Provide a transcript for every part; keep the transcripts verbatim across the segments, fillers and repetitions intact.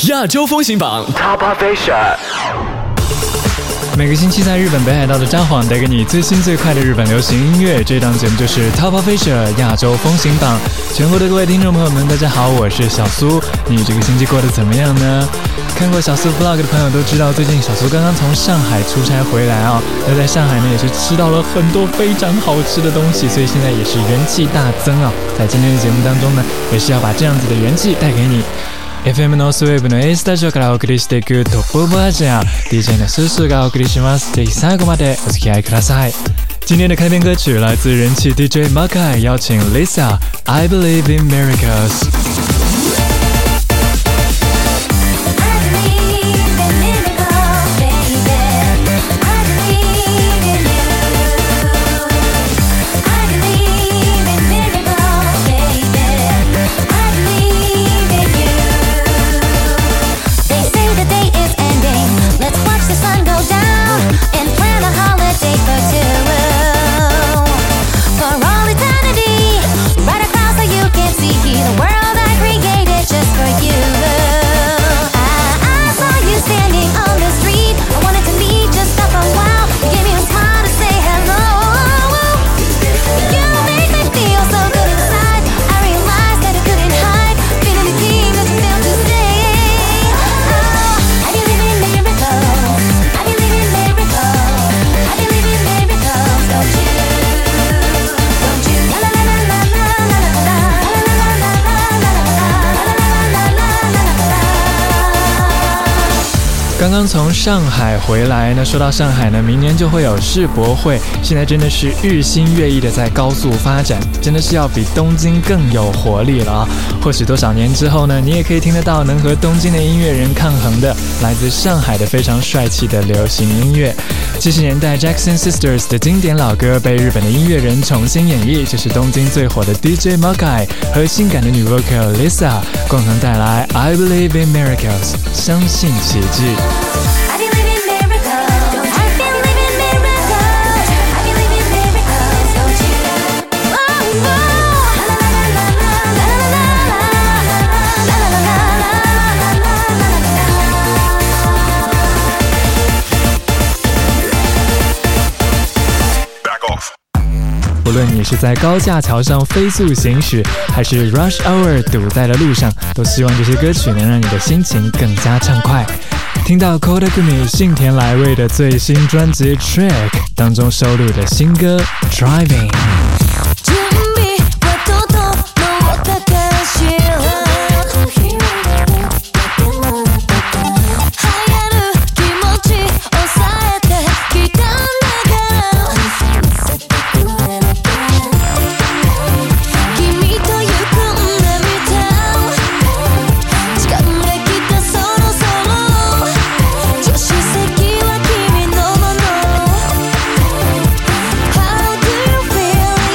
亚洲风行榜 Top of Asia。 每个星期在日本北海道的札幌带给你最新最快的日本流行音乐，这档节目就是 Top of Asia 亚洲风行榜。全国的各位听众朋友们，大家好，我是小苏。你这个星期过得怎么样呢？看过小苏 vlog 的朋友都知道，最近小苏刚刚从上海出差回来啊、哦，那在上海呢也是吃到了很多非常好吃的东西，所以现在也是元气大增啊、哦。在今天的节目当中呢，也是要把这样子的元氣帶給你。エフエム ノースウェーブの A スタジオからお送りしていくトップオブアジア ディージェー のスースーがお送りします。ぜひ最後までお付き合いください。今天的开篇歌曲来自人气 D J Makai 邀请 Lisa I Believe in Miracles。刚刚从上海回来，那说到上海呢，明年就会有世博会，现在真的是日新月异的在高速发展，真的是要比东京更有活力了啊！或许多少年之后呢，你也可以听得到能和东京的音乐人抗衡的，来自上海的非常帅气的流行音乐。七十年代 Jackson Sisters 的经典老歌被日本的音乐人重新演绎，这是东京最火的 D J Makai 和性感的女 vocal Lisa 共同带来 I Believe in Miracles， 相信奇迹。无论你是在高架桥上飞速行驶，还是 rush hour 堵在了路上，都希望这些歌曲能让你的心情更加畅快。听到 Kodakumi 幸田来未的最新专辑 Track 当中收录的新歌 Driving。 How do you feel?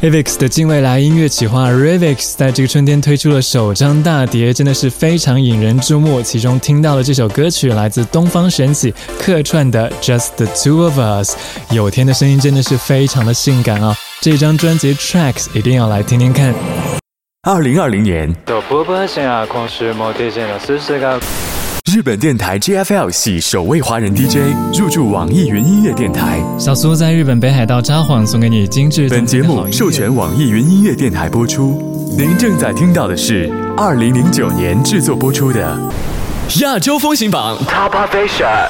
Avix 的近未来音乐企划 Ravix 在这个春天推出了首张大碟，真的是非常引人注目。其中听到的这首歌曲来自东方神起客串的 Just the Two of Us， 有天的声音真的是非常的性感啊！这张专辑 Tracks 一定要来听听看。 二零二零年日本电台 G F L 系首位华人 D J 入驻网易云音乐电台。 小苏在日本北海道札幌送给你精致。 本节目授权网易云音乐电台播出。您正在听到的是二零零九年制作播出的亚洲风行榜 Top Asia。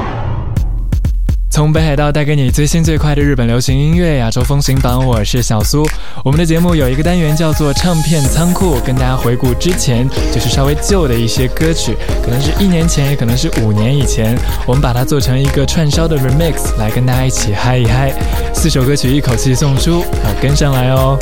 从北海道带给你最新最快的日本流行音乐亚洲风行榜，我是小苏。我们的节目有一个单元叫做唱片仓库，跟大家回顾之前就是稍微旧的一些歌曲，可能是一年前，也可能是五年以前，我们把它做成一个串烧的 remix 来跟大家一起嗨一嗨。四首歌曲一口气送出，要跟上来哦。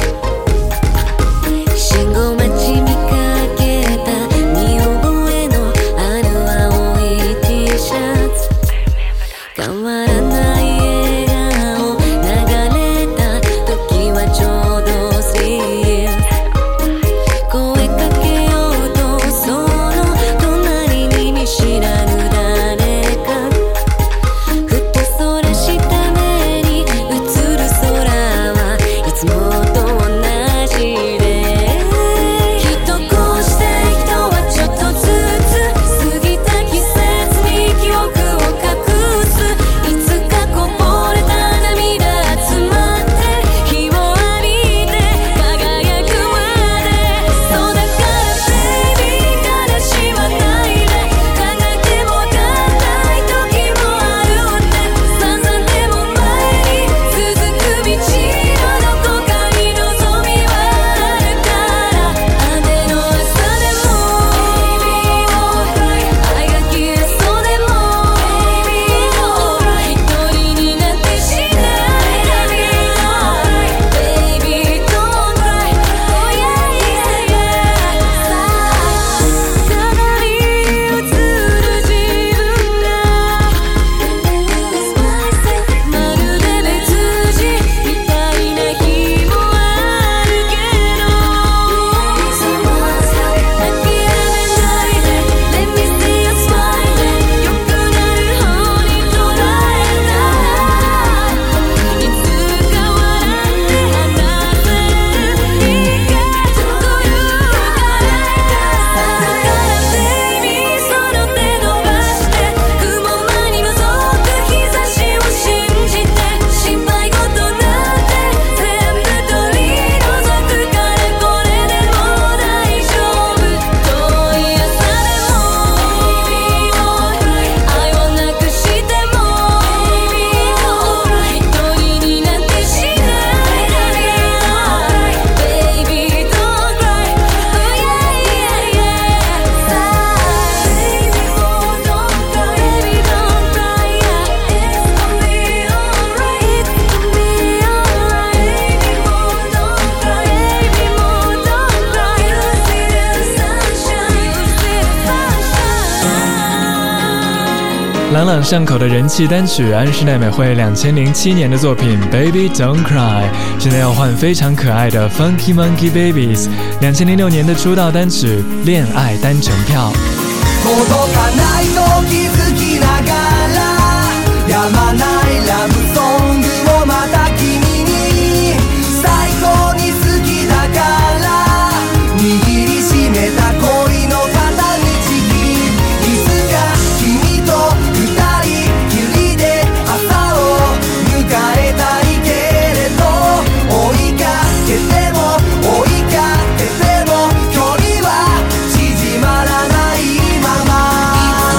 朗朗上口的人气单曲，安室奈美惠两千零七年的作品 Baby Don't Cry， 现在要换非常可爱的 Funky Monkey Babies 两千零六年的出道单曲恋愛單程票。 届かないと気づきながらやまないラブソングをまた君に最高に好きだから握りしめた恋の片道いつか君と二人きりで朝を迎えたいけれど追いかけても追いかけても距離は縮まらないまま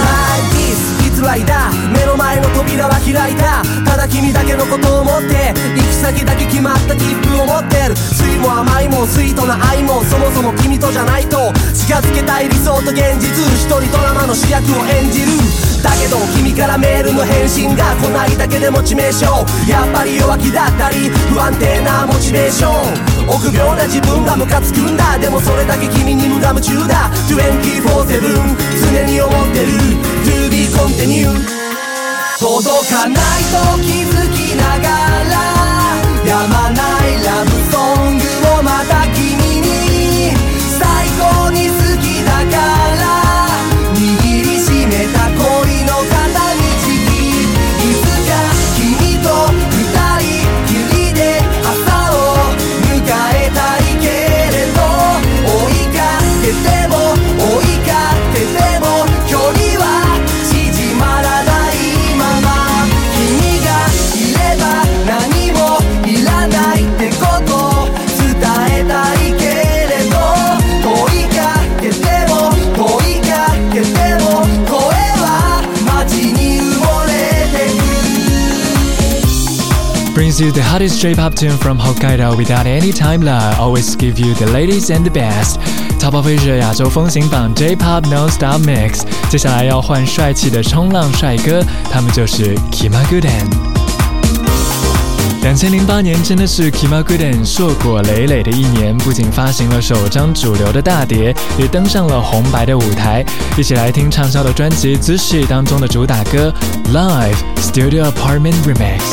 It's like this, it's like that 目の前の扉は開いたただ君だけのことを思って行き先だけ決まった切符を持ってる酸いも甘いもスイートな愛もそもそも君とじゃないと近づけたい理想と現実一人ドラマの主役を演じるだけど君からメールの返信が来ないだけでモチベーションやっぱり弱気だったり不安定なモチベーション臆病な自分がムカつくんだでもそれだけ君に無我夢中だ にじゅうよじかん常に思ってる To be continued 届かないと気づきながらやまないラブソング brings you the hottest J-pop tune from Hokkaido without any time lag. Always give you the latest and the best. Top of Asia 亚洲风行榜 J-pop Non-Stop Mix。接下来要换帅气的冲浪帅哥，他们就是 Kimaguden。二零零八年真的是 Kimaguden 硕果累累的一年，不仅发行了首张主流的大碟，也登上了红白的舞台。一起来听畅销的专辑《Zushi》当中的主打歌 Live Studio Apartment Remix。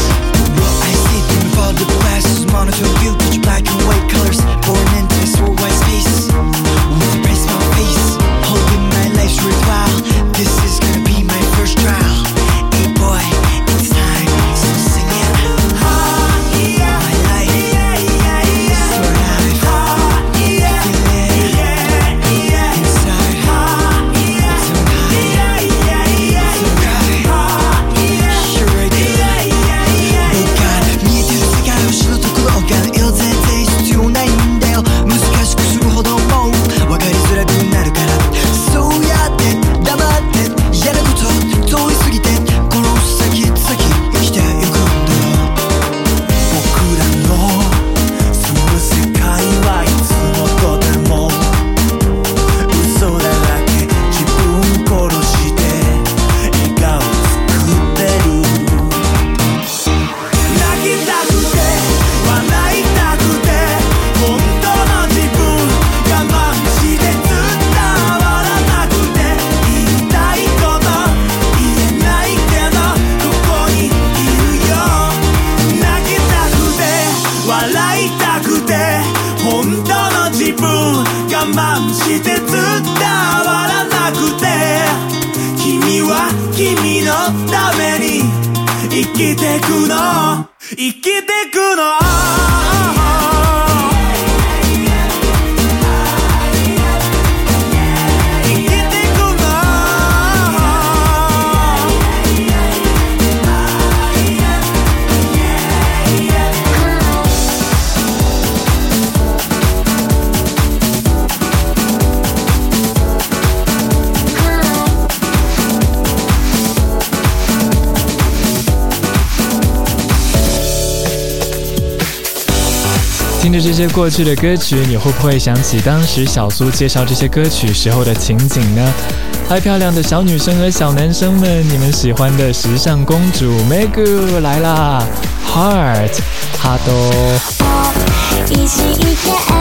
听着这些过去的歌曲，你会不会想起当时小苏介绍这些歌曲时候的情景呢？嗨，漂亮的小女生和小男生们，你们喜欢的时尚公主 Megu 来啦 ！Heart， 哈多。